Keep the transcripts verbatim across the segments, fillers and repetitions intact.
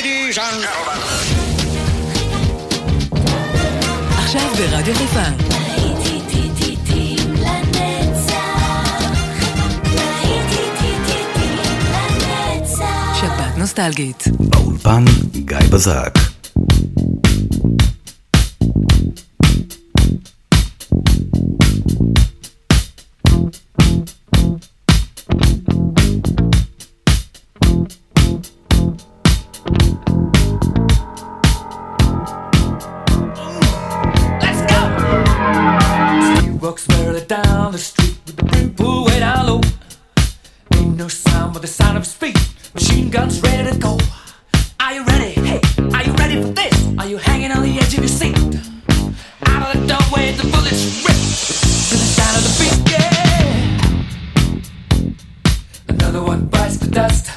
Ladies and gentlemen. עכשיו ברדיו חיפה. שבת נוסטלגית. באולפן גיא בזק. Down the street with the brim pool way down low. Ain't no sound but the sound of his feet. Machine guns ready to go. Are you ready? Hey, are you ready for this? Are you hanging on the edge of your seat? Out of the doorway the bullets rip to the sound of the beat. Yeah. Another one bites the dust.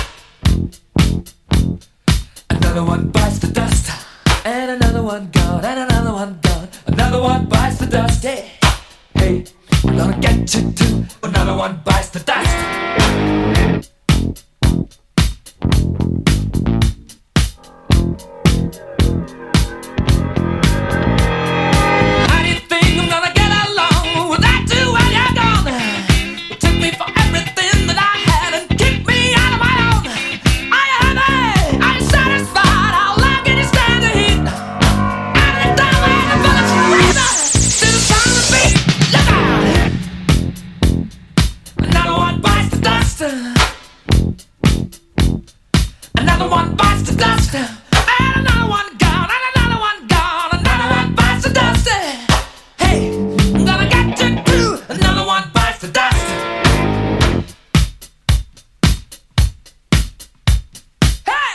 Another one bites the dust. And another one gone. And another one gone. Another one bites the dust. Yeah. Hey, we're gonna get you too. Another one bites the dust. How do you think I'm gonna get along without you when you're gone? You took me for everything that I had and kicked me out of my own. Are you happy? Are you satisfied? How long can you stand the heat? Out of the doorway, the bullets razor to the sound of the beat. Look out! Another one bites the dust. Another one bites the dust. And another one gone. And another one gone. Another one bites the dust. Hey, I'm gonna get you too. Another one bites the dust. Hey!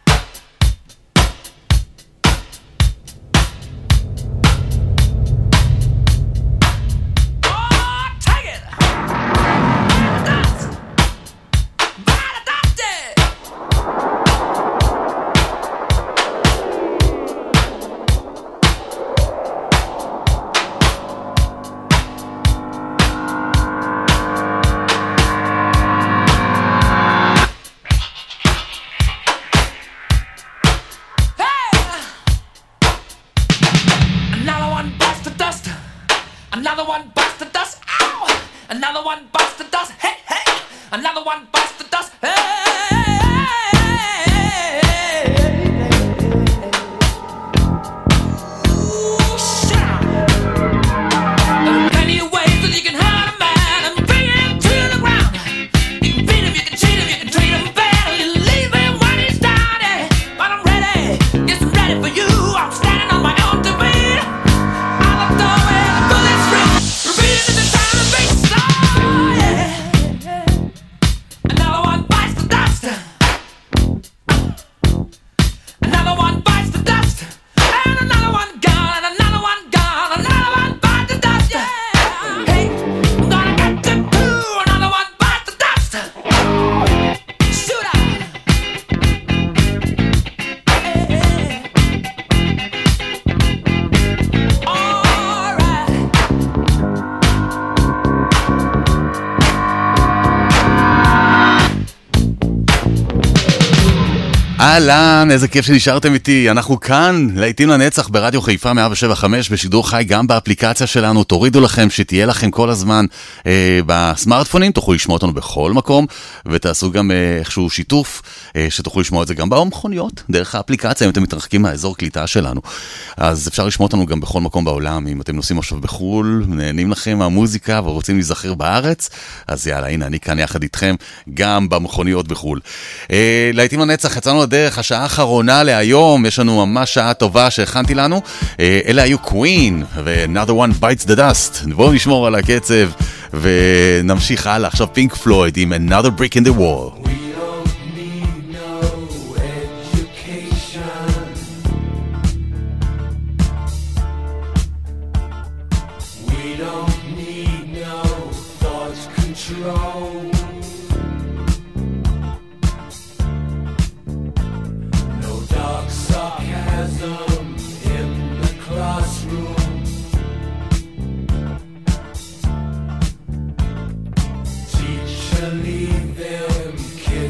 Oh, take it! Dust! By the dusty! Another one bites the dust. Another one bites the dust. Ow! Another one bites the dust. Hey, hey! Another one bites the dust. Hey! Ooh, shut up. There are plenty of ways that you can hurt a man and bring him to the ground. You can beat him, you can cheat him, you can treat him bad, or you leave him when he's down. Yeah. But I'm ready, yes, I'm ready for you. I'm standing on my own two feet. Out the doorway, the bullets rip, repeating to the sound of the beat. Oh, yeah. Another one bites the dust. Another one bites the dust. And another one gone. And another one gone. Another one bites the dust. Yeah. Hey, I'm gonna get you too. Another one bites the dust. Shoot out. All right. אהלן, איזה כיף שנשארתם איתי. אנחנו כאן, לעיתים לנצח ברדיו חיפה מאה שבע חמש, בשידור חי גם באפליקציה שלנו. תורידו לכם שתהיה לכם כל הזמן אה, בסמארטפונים, תוכלו לשמוע אותנו בכל מקום, ותעשו גם אה, איכשהו שיתוף, אה, שתוכלו לשמוע את זה גם במכוניות, דרך האפליקציה, אם אתם מתרחקים מהאזור קליטה שלנו. אז אפשר לשמוע אותנו גם בכל מקום בעולם. אם אתם נוסעים עכשיו בחול, נהנים לכם מהמוזיקה ורוצים להיזכר בארץ, אז יאללה, הנה, אני כאן יחד איתכם גם במכוניות בחול. אה, לעיתים לנצח, יצאנו לדרך, השעה האחרונה להיום, יש לנו ממש שעה טובה שהכנתי לנו. אלה היו קווין ו-Another One Bites the Dust. בואו נשמור על הקצב ונמשיך הלאה. עכשיו פינק פלויד עם Another Brick in the Wall. Leave them kids.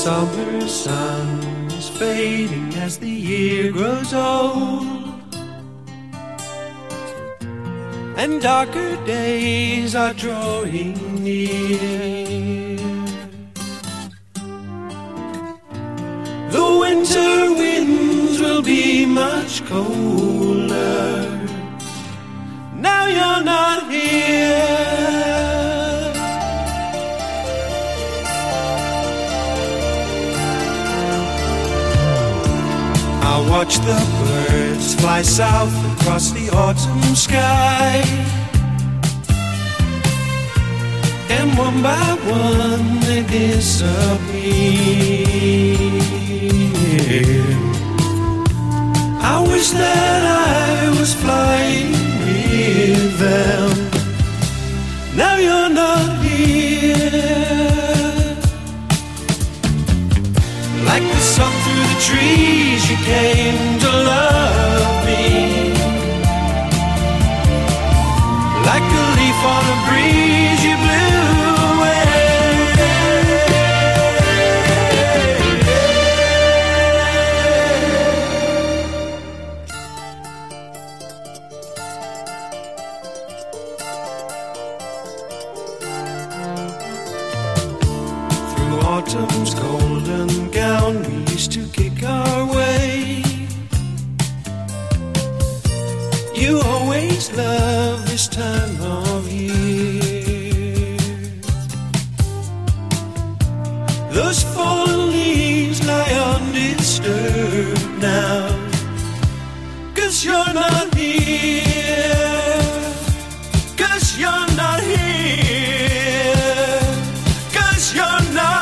summer sun is fading as the year grows old, and darker days are drawing near. The winter winds will be much colder. Now you're not here. I watch the birds fly south across the autumn sky, and one by one they disappear. I wish that I was flying with them. Now you're not here. Like the sun through the trees, you came to love me. Like a leaf on a breeze, you blew away. Autumn's golden gown, we used to kick our way. You always love this time of year. Those fallen leaves lie undisturbed now, 'cause you're not here. 'Cause you're not here. 'Cause you're not.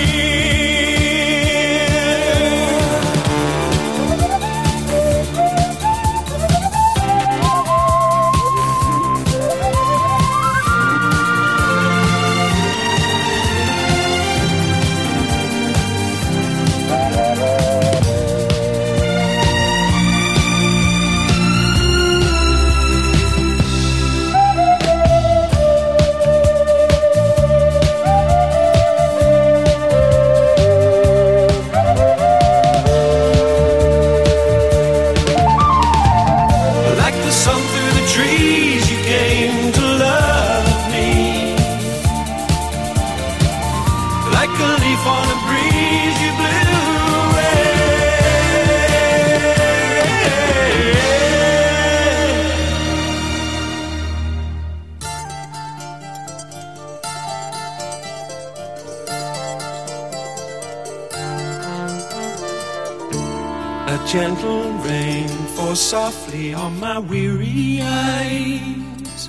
Gentle rain falls softly on my weary eyes,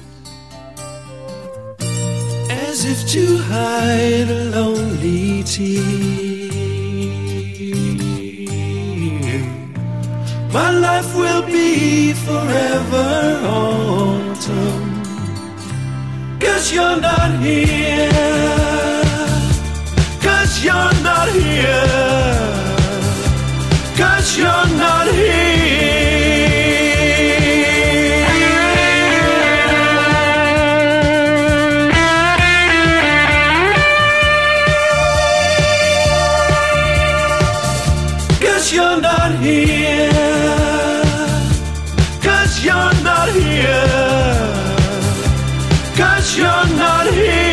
as if to hide a lonely tear. My life will be forever autumn, 'cause you're not here. 'Cause you're not here. 'Cause you're not here. Cause you're not here. Cause you're not here. Cause you're not here.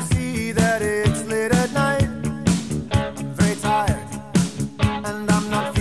I'm not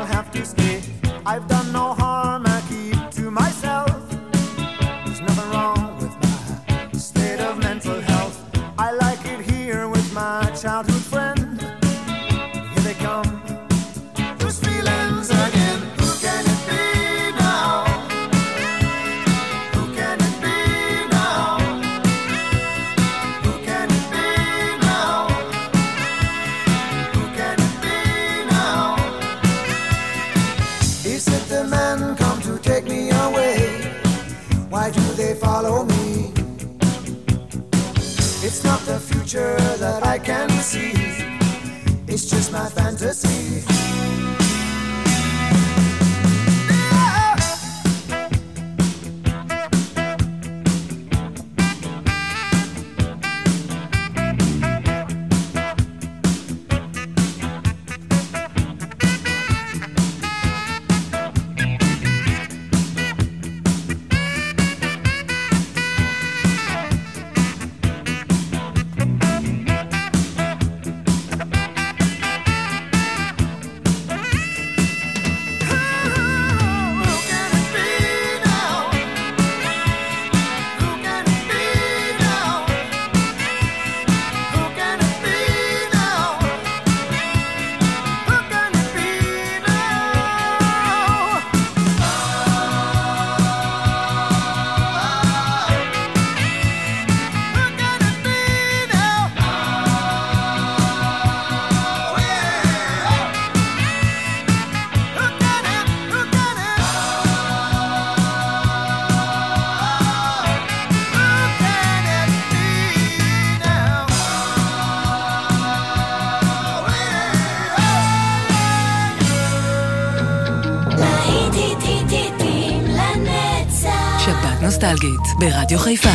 I'll have to stay. I've done no harm, I keep to myself. There's nothing wrong with my state of mental health. I like it here with my childhood friend. Here they come, those feelings again. Who can it be now? Who can it be now? Who can it be now? Who can it be now? Is it the men come to take me away? Why do they follow me? It's not the future that I can see. It's just my fantasy. נוסטלגית ברדיו חיפה.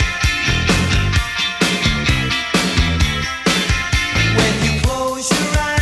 When you close your eyes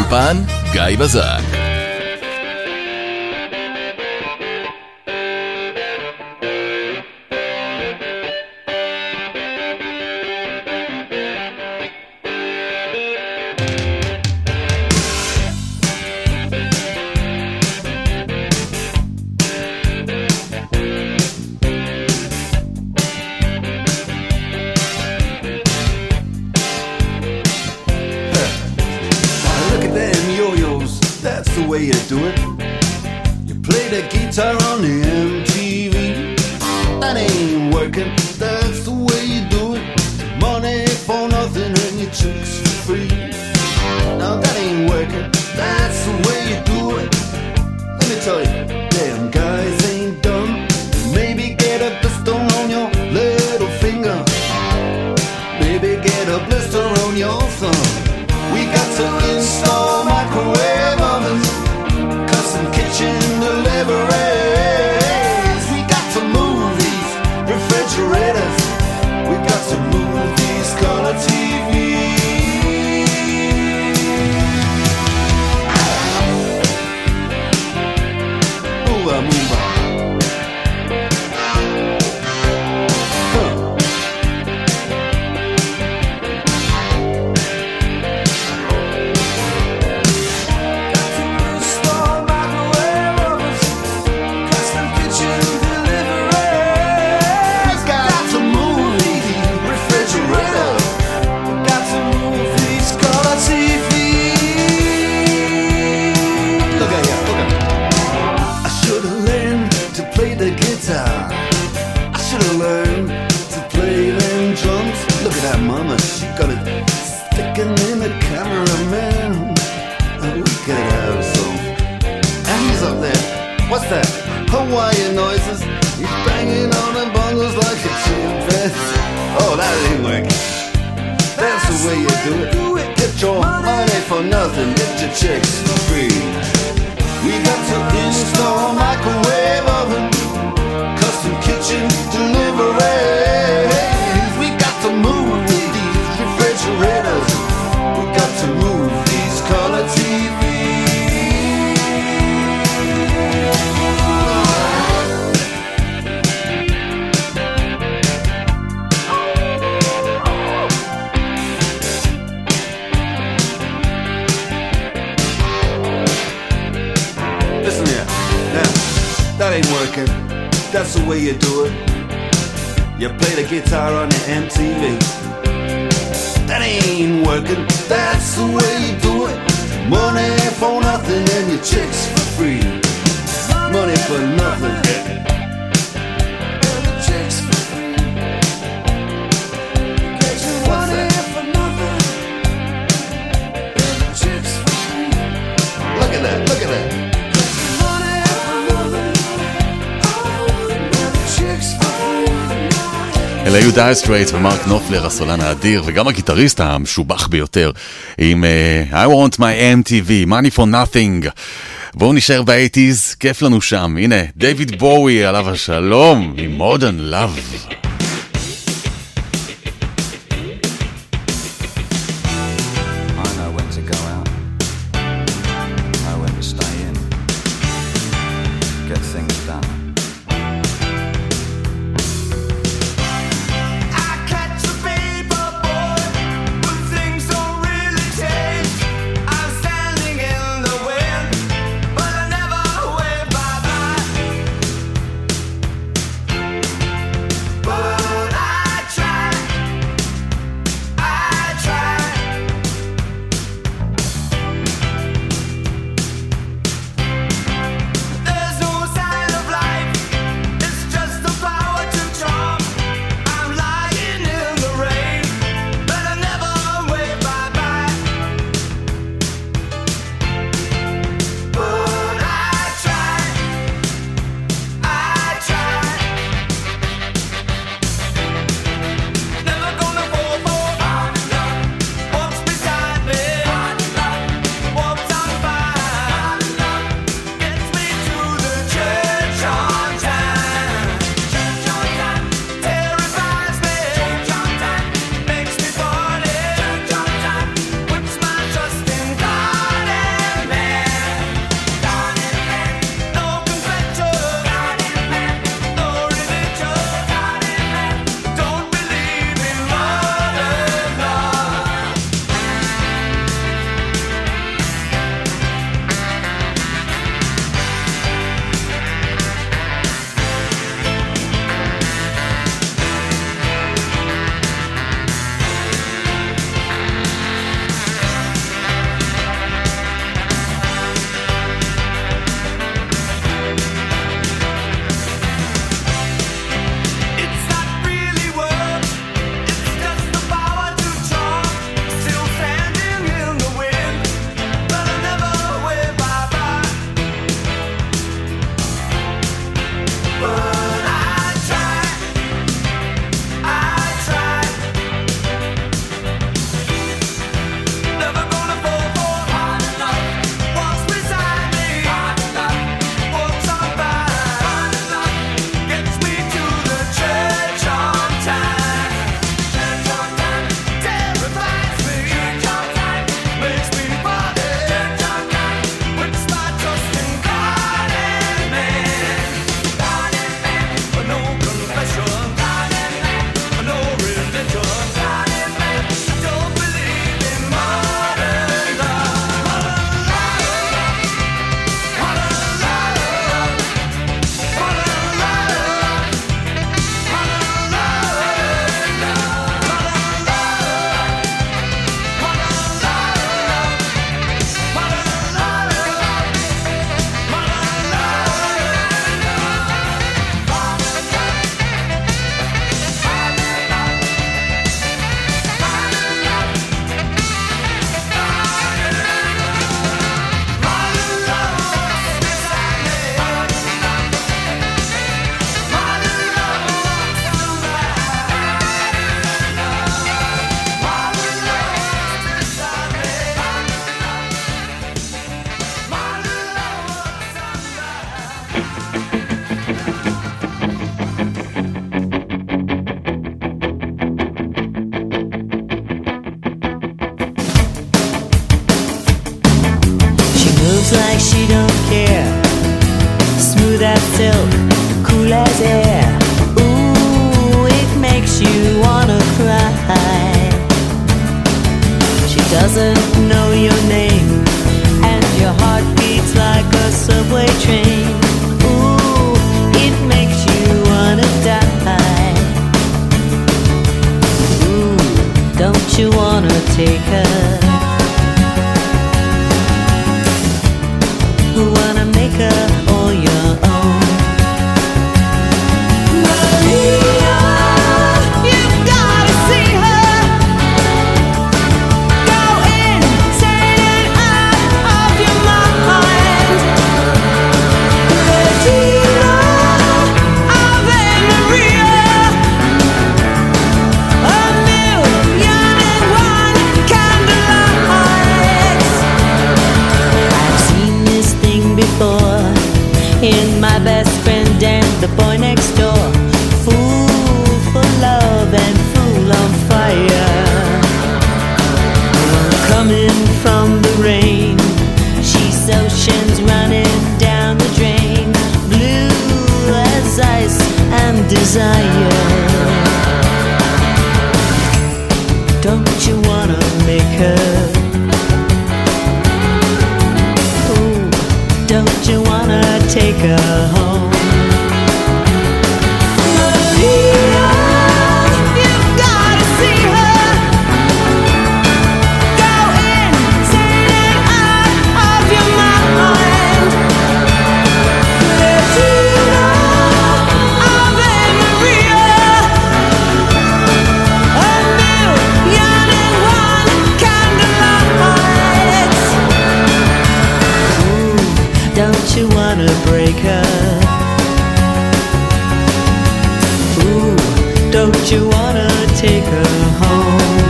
באולפן גיא בזק. אלה היו דייר סטרייטס ומרק נופלר, הסולן האדיר וגם הגיטריסט המשובח ביותר, עם uh, I want my אם טי וי, money for nothing. בואו נשאר ב-שמונים, כיף לנו שם. הנה, דיוויד בואי, עליו השלום, עם Modern Love. But silk, cool as air. Ooh, it makes you wanna cry. She doesn't know your name, and your heart beats like a subway train. Ooh, it makes you wanna die. Ooh, don't you wanna take her? Wanna make her all your own. Maria, you've gotta see her. Go insane and out of your mind. Regina Ave Maria, a million and one candlelights. I've seen this thing before in my best friend and the boy next door. Fool for love and fool on fire. Coming from the rain, she's oceans running down the drain. Blue as ice and desire. Don't you wanna make her? Don't you wanna take her home? Maria, you've gotta see her. Go insane and out of your mind. Regina Ave Maria, a million and one candlelights. Don't you wanna break her? Ooh, don't you wanna take her home?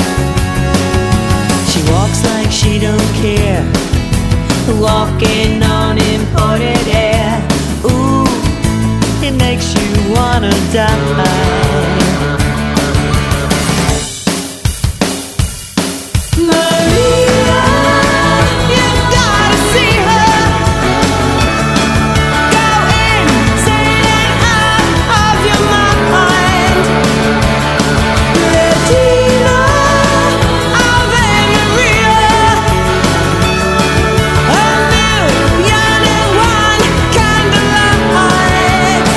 She walks like she don't care, walking on imported air. Ooh, it makes you wanna die. Maria, you've gotta see her. Go insane and out of your mind. Regina Ave Maria, a million and one candlelights.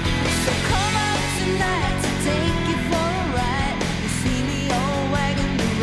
Take you for a ride. You see me all wagging.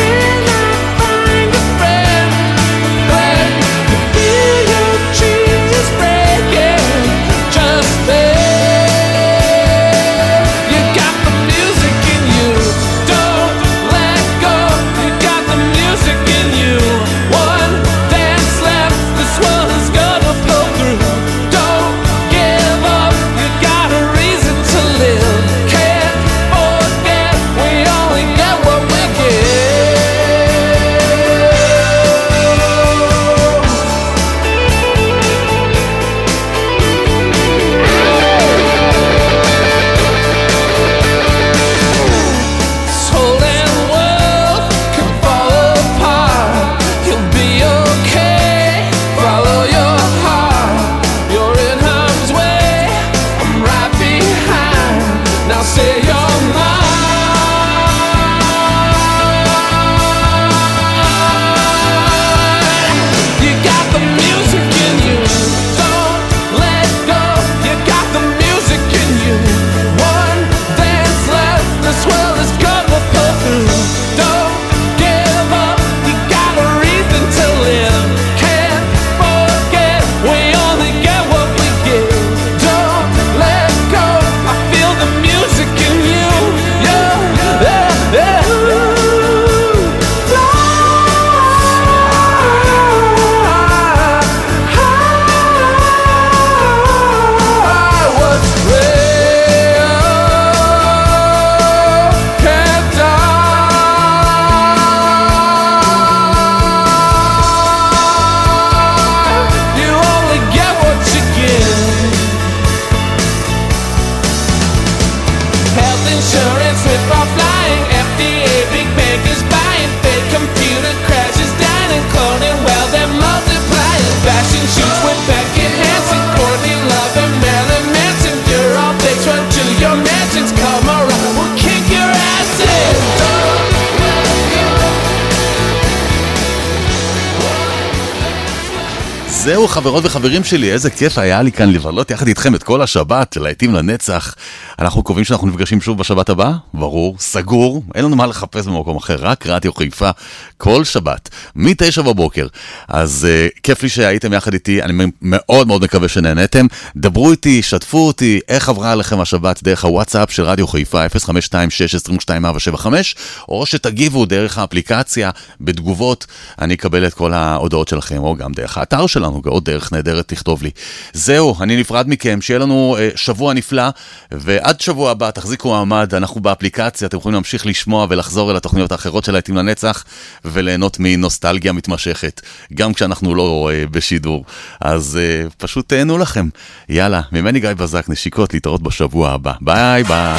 זהו חברות וחברים שלי, איזה כיף היה לי כאן לבלות יחד איתכם את כל השבת, להיטים לנצח. אנחנו קובעים שאנחנו נפגשים שוב בשבת הבאה? ברור, סגור, אין לנו מה לחפש במקום אחר, רק רדיו חיפה, כל שבת, מתשע בבוקר. אז uh, כיף לי שהייתם יחד איתי, אני מאוד מאוד מקווה שנהנתם. דברו איתי, שתפו אותי, איך עברה עליכם השבת דרך הוואטסאפ של רדיו חיפה, אפס חמש שתיים שש עשרים ושתיים ארבע שבע חמש, או שתגיבו דרך האפליקציה, בתגובות, אני אקבל את כל ההודעות שלכם, או גם דרך האתר שלנו, עוד דרך נהדרת תכתוב לי. זהו, אני נפרד מכם, שיהיה לנו uh, שבוע נפלא, ועד שבוע הבא תחזיקו מעמד, אנחנו באפליקציה, אתם יכולים להמשיך לשמוע ולחזור אל התוכניות האחרות של להיטים לנצח, וליהנות מנוסטלגיה מתמשכת, גם כשאנחנו לא uh, בשידור. אז uh, פשוט תהנו לכם. יאללה, ממני גיא בזק, נשיקות, להתראות בשבוע הבא. ביי ביי.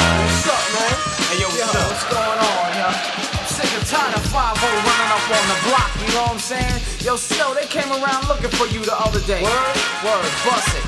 Yo, Snow, they came around looking for you the other day. Word, word, bust it.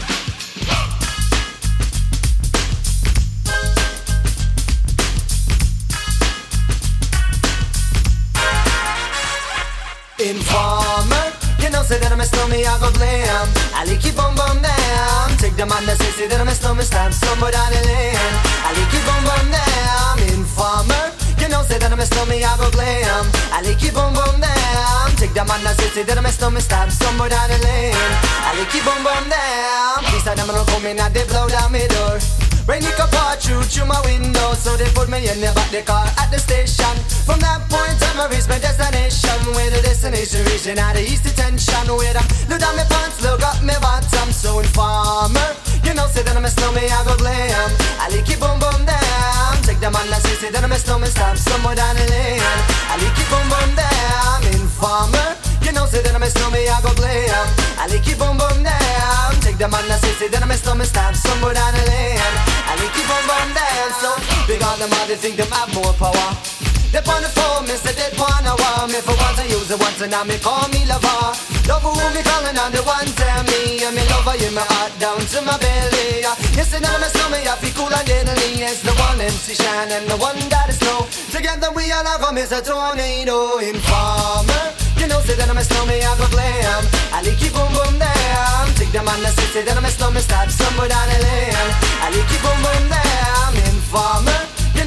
Informer, you know, say that I'm a snowman, I go blam. I like you bum bum down. Take the man that say, say that I'm a snowman, stamp somewhere down the lane. I like you bum bum down. Informer, you know, say that I'm a snowman, I go glam. I like you bum bum down. Take the man that say, say that I'm a snowman, stamp somewhere down the lane. I like you bum bum down. Please tell them I don't come in and they blow down my door. Rain it can pour through through my window, so they put me in the back the car at the station. From that point on, I reached my destination. Where the destination reaching out the east detention. Where I look down my pants, look up my bottom. So informer, you know, say that I'm a snowman, I go glam. I like it boom boom down. Take the man that say, say that I'm a snowman, stop somewhere down the lane. I like it boom boom down. Informer, you know, say that I'm a snowman, I go glam. I like it boom boom down. Take the man that say, say that I'm a snowman, stop somewhere down the lane. I like it boom boom down. So big on them all, they think them have more power. They on the phone, me say they wanna want me. For once I use it once and now me call me lover. Love who me calling on the one tell me. And me lover in my heart down to my belly. Yes, and I'm a snowman, I feel cool and deadly. It's the one M C Shine and the one that is snow. Together we all have come as a tornado. Informer, you know, say that I'm a snowman, I go glam. I like it boom boom down. Take the man that say, say that I'm a snowman, start somewhere down the lane. I like it boom boom down. Informer, you know, say that I'm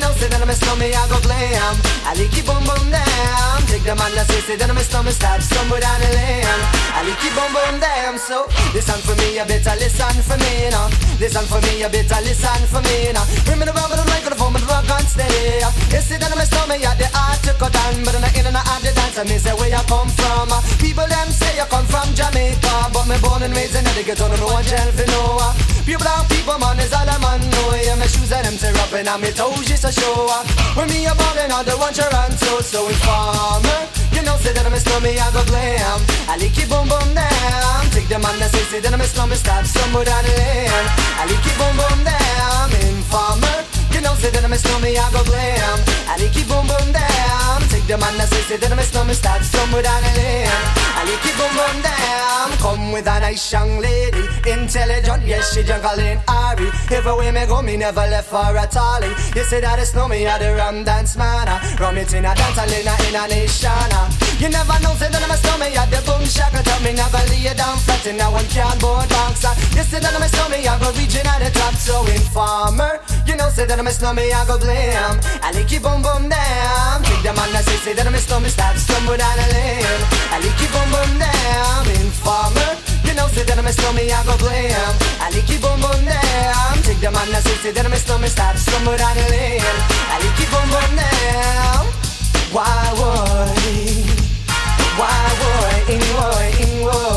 me stomach, I go glam. I like it boom boom down. Take the man that say, say that my stomach stab somewhere down the lane. I like it boom boom down. So listen for me, you better listen for me now. Listen for me, you better listen for me now. Bring me the rubber, the microphone, the rock and stay. You see that my stomach, yeah, the art to cut down, but in the in and out the dance, I mean say where you come from. People them say you come from Jamaica, but me born and raised in the ghetto, no one tell for no. Pure brown people, man, is all a man know. Yeah, my shoes and them tear up and my toes just a show. When me a ballin', all the one Toronto, so informer. You know, say that I'm a stomach, I go glam. I like it boom boom down. Take the man that say, say that I'm a stomach, stab somewhere down the lane. I like it boom boom down. Informer. You know, say that I'm a stomach, I go glam. I like it boom boom down. Take the man that say, say that I'm a stomach, stab somewhere down the lane. I like it boom boom down. Come with a nice young lady, intelligent, yes, she jungle in Ari. Everywhere me go, me never left for a tally. You say that it's no me, I the rum dance man. Rum it in a dance, I in a, in a nation. You never know, say that I'm a stomach, I the boom shaka. Tell me never lay you down flat in a one can board box. You say that I'm a stomach, I go reaching at the top. So informer, you know, say that I'm a stomach, I go blame. I like it boom boom down. Take the man that say, say that I'm a stomach, stab somewhere down the lane. I like it boom boom down. Informer, you know, say that I'm a stomach, I go blame. I like it boom boom down. Take the man that say, say that I'm a stomach, stab somewhere down the lane. I like it boom boom down. Why would, why would, in would, in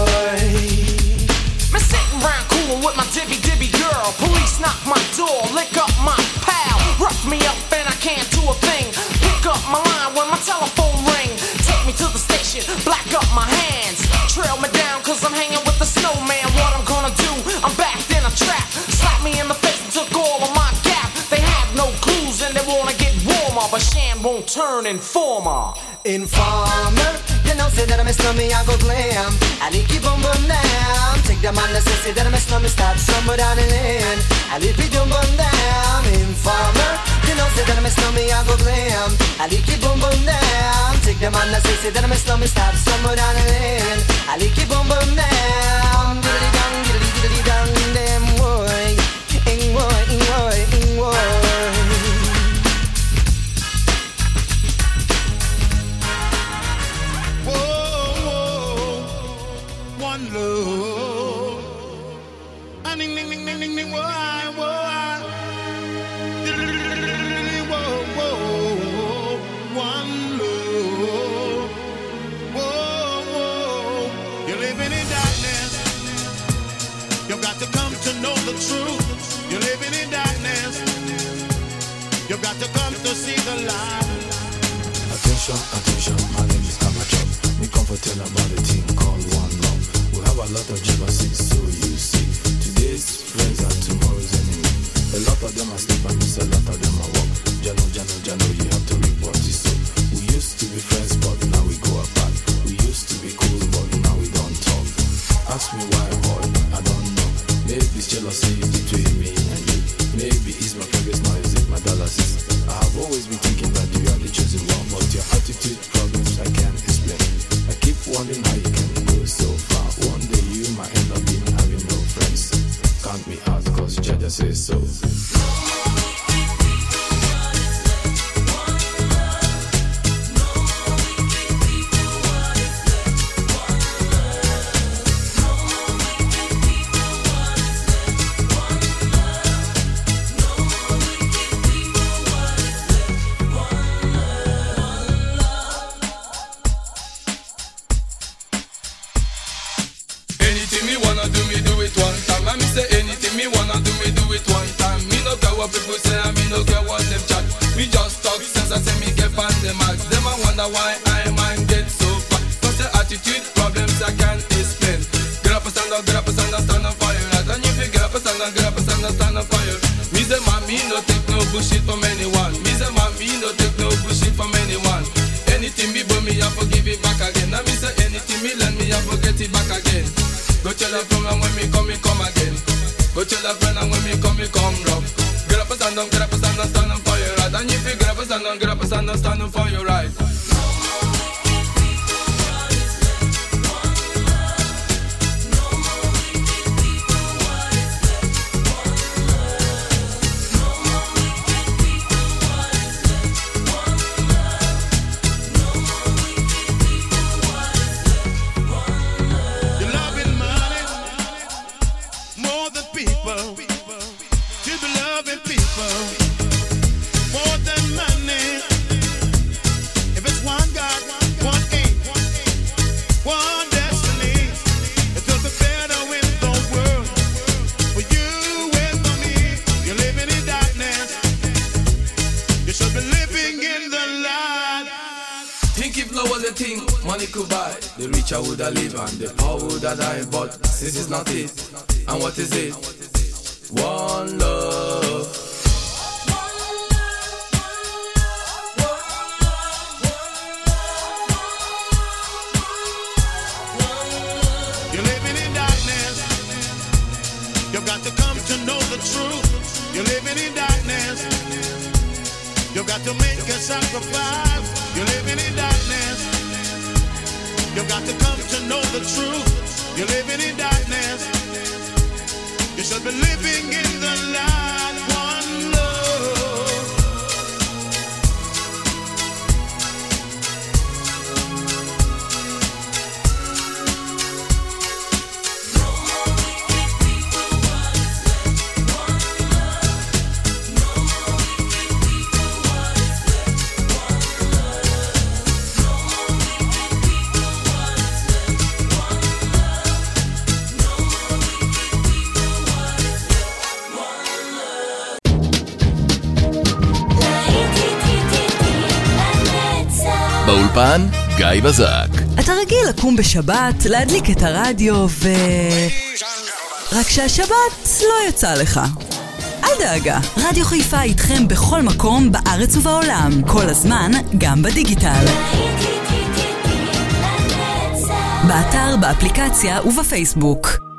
would. Me sitting round coolin' with my dibby dibby girl. Police knock my door, lick up my pal. Rough me up and I can't do a thing. Pick up my line when my telephone ring. Take me to the station, black up my hands. Trail me down cause I'm hanging with the snowman. What I'm gonna do, I'm backed in a trap. Slap me in the face and took all of my gap. They have no clues and they wanna get warmer, but Shan won't turn informer. Informer, you know, say that I'm a stomach, I go glam. I like it boom boom down. Take the man that say, say that I'm a stomach, stab somewhere down the lane. I like it boom boom down. Informer, you know, say that I'm a stomach, I go glam. I like it boom boom down. Take the man that say, say that I'm a stomach, stab somewhere down the lane. I like it boom boom down. Diddly dong, diddly diddly dong, damn boy. Ing boy, ing boy, ing boy. One love, and ding ding ding ding ding ding, whoa, whoa, whoa, whoa, one love, whoa, whoa. You're living in darkness. You've got to come to know the truth. You're living in darkness. You've got to come to see the light. Attention, attention, my name is Amateur. We come for tell about the team called One Love. We have a lot of jealousy, so you see. Today's friends are tomorrow's enemy. A lot of them are sleep and miss, a lot of them are walk. Jano, Jano, Jano, you have to report this. So we used to be friends, but now we go apart. We used to be cool, but now we don't talk. Ask me why, boy, I don't know. Maybe it's jealousy between me and you. Maybe it's my previous, now is it my dialysis. I have always been thinking that you are the chosen one, but your attitude problems I can't explain. I keep wondering how you can go so far. One day you might end up being having no friends. Count me out cause Jaja says so. People say I me no care what them chat. We just talk sense. I say me get on the max. Them I wonder why I mind get so fat. Cause the attitude problems I can't explain. Get up and stand up, get up and stand up, stand up for your right. And if you get up and stand up, get up and stand up, stand up for your. Me say mommy no take no bullshit from anyone. Me say mommy no take no bullshit from anyone. Anything me burn me I forgive it back again. And me say anything me lend me I forget it back again. Go tell a friend and when me come me come again. Go tell a friend and when me come me come rough. Get up and stand up, get up and stand up, stand up for your right. And if you get up and stand up, get up and stand up, stand up for your right. money could buy, the richer would have live and the poor would have die. But since it's not it, and what is it? One love. You're living in darkness. You've got to come to know the truth. You're living in darkness. You've got to make a sacrifice. You're living in darkness. You've got to come to know the truth. You're living in darkness. You should be living in the light. One love. באולפן גיא בזק. אתה רגיל לקום בשבת, להדליק את הרדיו ו... רק שהשבת לא יצא לך. אל דאגה, רדיו חיפה איתכם בכל מקום בארץ ובעולם, כל הזמן, גם בדיגיטל. באתר, באפליקציה ובפייסבוק.